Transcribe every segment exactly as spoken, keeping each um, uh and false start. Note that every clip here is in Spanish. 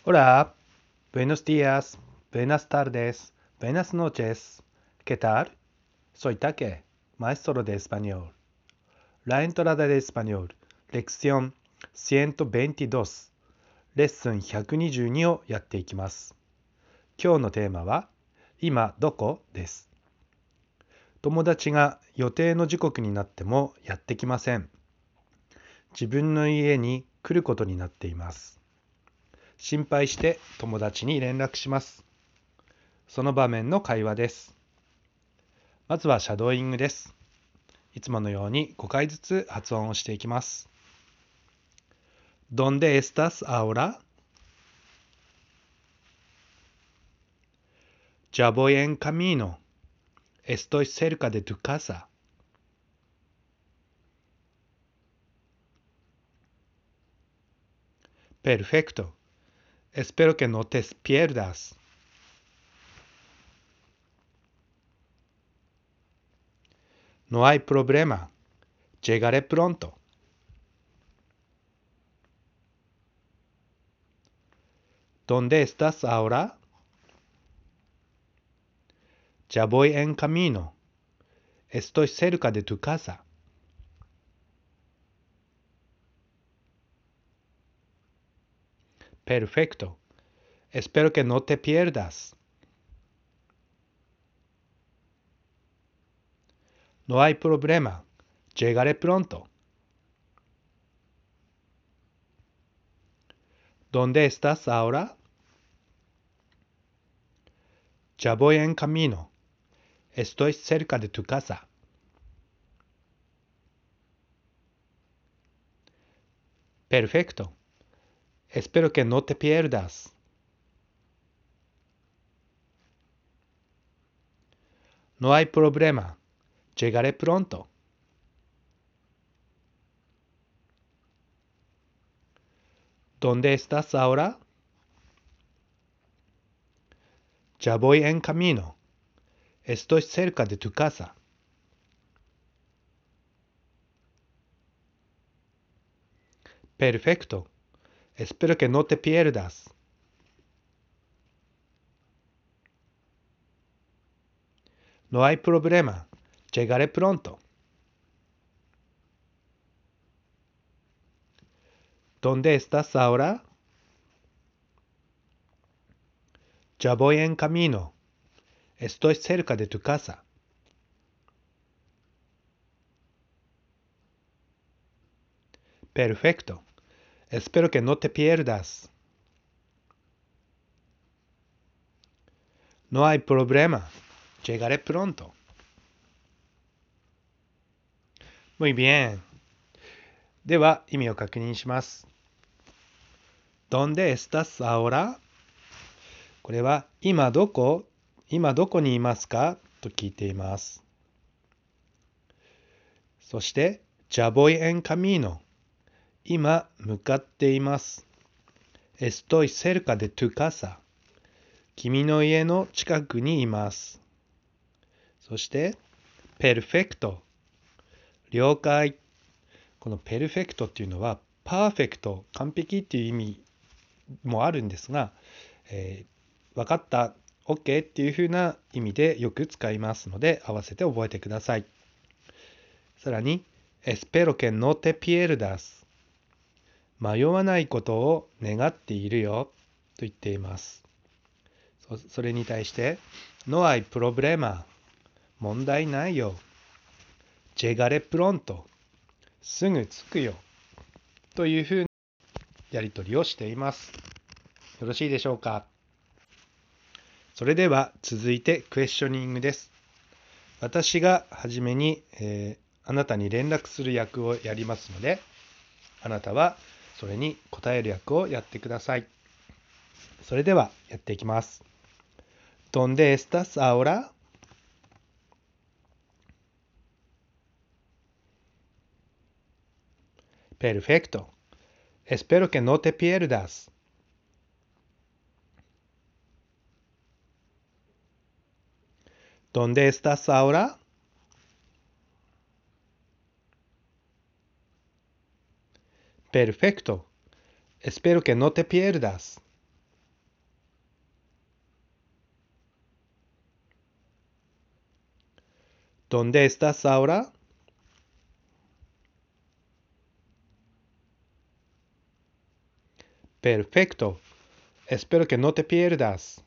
Hola, buenos días, buenas tardes, buenas noches. ¿Qué tal? Soy Take, maestro de español. La entrada de español, lección ciento veintidós、レッスンひゃくにじゅうにをやっていきます。今日のテーマは、今どこです。友達が予定の時刻になってもやってきません。自分の家に来ることになっています。心配して友達に連絡します。その場面の会話です。まずはシャドーイングです。いつものようにごかいずつ発音をしていきます。¿Dónde estás ahora? Ya voy en camino. Estoy cerca de tu casa. Perfecto. Espero que no te pierdas. No hay problema. Llegaré pronto. ¿Dónde estás ahora? Ya voy en camino. Estoy cerca de tu casa. Perfecto. Espero que no te pierdas. No hay problema. Llegaré pronto. ¿Dónde estás ahora? Ya voy en camino. Estoy cerca de tu casa. Perfecto. Espero que no te pierdas. No hay problema. Llegaré pronto. ¿Dónde estás ahora? Ya voy en camino. Estoy cerca de tu casa. Perfecto. Espero que no te pierdas. No hay problema. Llegaré pronto. ¿Dónde estás ahora? Ya voy en camino. Estoy cerca de tu casa. Perfecto. Espero que no te pierdas. No hay problema. Llegaré pronto. Muy bien. では、意味を確認します。¿Dónde estás ahora? これは、今どこ今どこにいますかと聞いています。そして、Ya voy en camino。今、向かっています。Estoy cerca de tu casa。君の家の近くにいます。そして、Perfecto。了解。この Perfecto っていうのは、パーフェクト、完璧っていう意味もあるんですが、えー、分かった、OK っていう風な意味でよく使いますので、合わせて覚えてください。さらに、Espero que no te pierdas。迷わないことを願っているよと言っています。そ, それに対して、No hay problema。問題ないよ。Llegaré pronto。すぐ着くよ。というふうなやり取りをしています。よろしいでしょうか。それでは続いてクエスチョニングです。私がはじめに、えー、あなたに連絡する役をやりますので、あなたはそれに答える役をやってください。それではやっていきます。¿Dónde estás ahora? Perfecto. Espero que no te pierdas. ¿Dónde estás ahora? Perfecto. Espero que no te pierdas. ¿Dónde estás ahora? Perfecto. Espero que no te pierdas.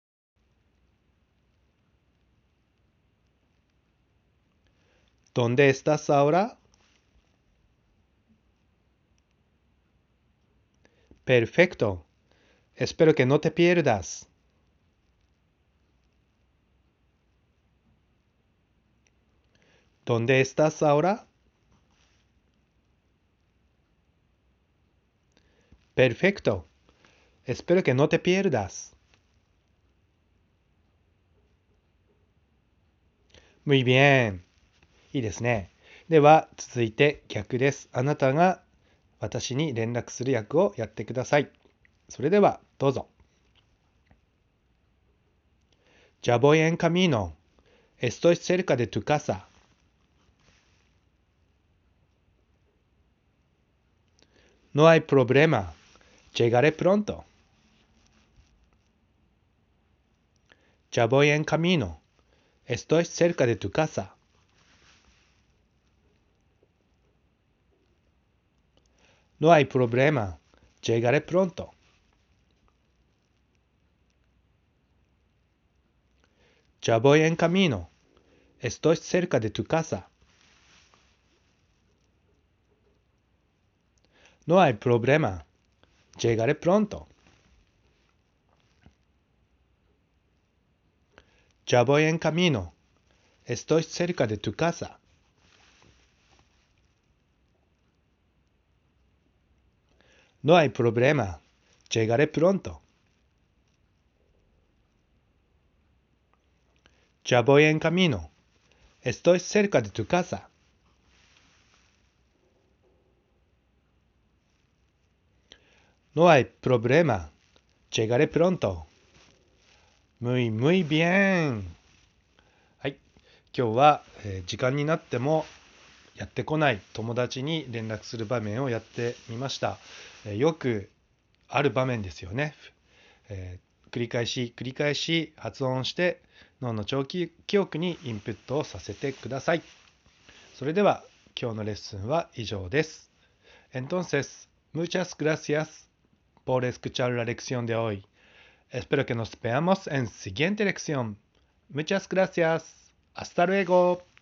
¿Dónde estás ahora? Perfecto. Espero que no te pierdas. ¿Dónde estás ahora? Perfecto. Espero que no te pierdas. Muy bien。いいですね。では、続いて逆です。あなたが私に連絡する役をやってください。それでは、どうぞ。Ya voy en camino. Estoy cerca de tu casa. No hay problema. Llegaré pronto. Ya voy en camino. Estoy cerca de tu casa. No hay problema. Llegaré pronto. Ya voy en camino. Estoy cerca de tu casa. No hay problema. Llegaré pronto. Ya voy en camino. Estoy cerca de tu casa. No hay problema. Llegaré pronto. Ya voy en camino. Estoy cerca de tu casa. No hay problema. Llegaré pronto. Muy, muy bien。はい。今日は、えー時間になってもやってこない友達に連絡する場面をやってみました。えーよくある場面ですよね。えー繰り返し繰り返し発音して脳の長期記憶にインプットをさせてください。それでは今日のレッスンは以上です。Entonces, muchas gracias por escuchar la lección de hoy. Espero que nos veamos en siguiente lección. Muchas gracias. Hasta luego.